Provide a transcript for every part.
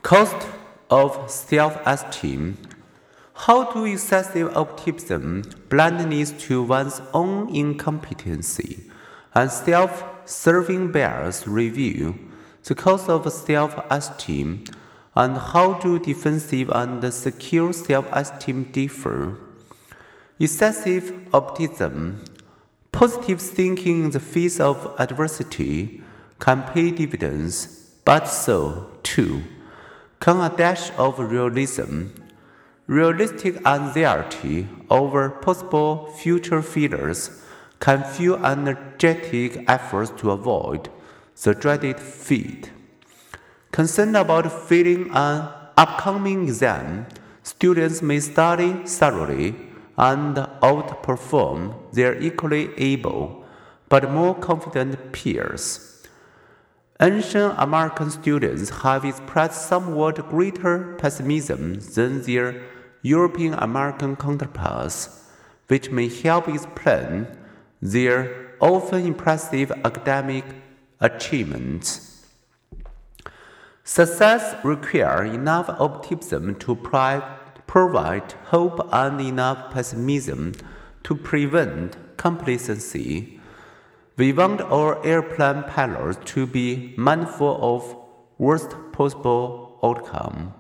Cost of self-esteem. How do excessive optimism, blindness to one's own incompetency, and self-serving bias reveal the cost of self-esteem, and how do defensive and secure self-esteem differ? Excessive optimism. Positive thinking in the face of adversity can pay dividends, but so, too, can a dash of realism. Realistic anxiety over possible future failures can fuel energetic efforts to avoid the dreaded fate. Concerned about failing an upcoming exam, students may study thoroughly and outperform their equally able but more confident peers. Ancient American students have expressed somewhat greater pessimism than their European American counterparts, which may help explain their often impressive academic achievements. Success requires enough optimism to provide hope and enough pessimism to prevent complacency. We want our airplane pilots to be mindful of worst possible outcome.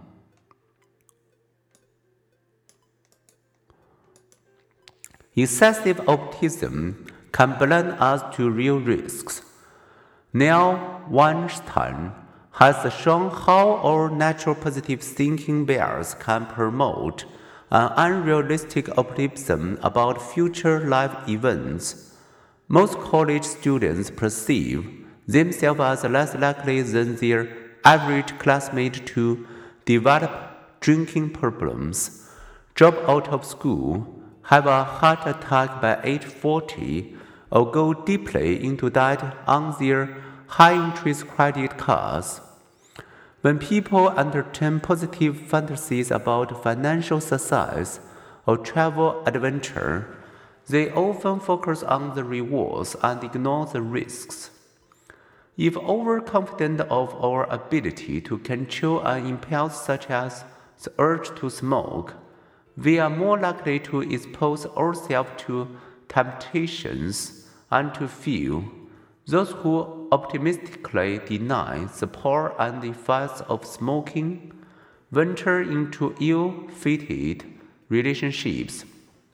Excessive optimism can blind us to real risks. Neil Weinstein has shown how our natural positive thinking bias can promote an unrealistic optimism about future life events. Most college students perceive themselves as less likely than their average classmate to develop drinking problems, drop out of school, have a heart attack by age 40, or go deeply into debt on their high-interest credit cards. When people entertain positive fantasies about financial success or travel adventure, they often focus on the rewards and ignore the risks. If overconfident of our ability to control an impulse such as the urge to smoke, we are more likely to expose ourselves to temptations and to feel. Those who optimistically deny the power and effects of smoking venture into ill-fated relationships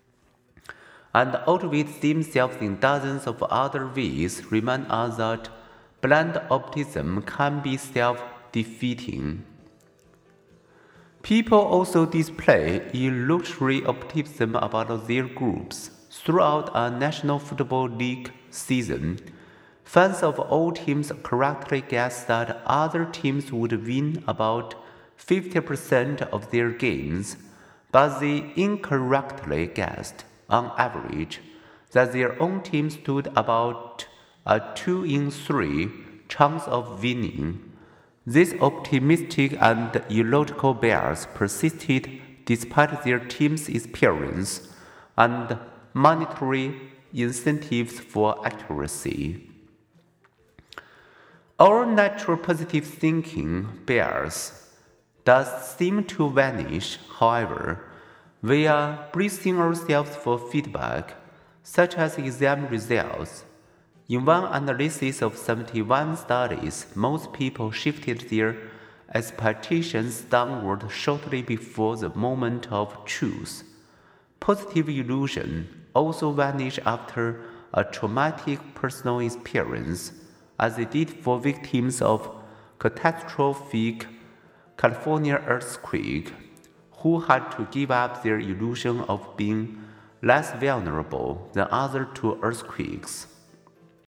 and outwit themselves in dozens of other ways remind us that blind optimism can be self-defeating. People also display illusory optimism about their groups. Throughout a National Football League season, fans of all teams correctly guessed that other teams would win about 50% of their games, but they incorrectly guessed, on average, that their own team stood about a 2 in 3 chance of winning. This optimistic and illogical bias persisted despite their team's experience and monetary incentives for accuracy. Our natural positive thinking bias does seem to vanish, however. We are bracing ourselves for feedback, such as exam results. In one analysis of 71 studies, most people shifted their expectations downward shortly before the moment of truth. Positive illusion also vanish after a traumatic personal experience, as it did for victims of catastrophic California earthquake, who had to give up their illusion of being less vulnerable than others to earthquakes.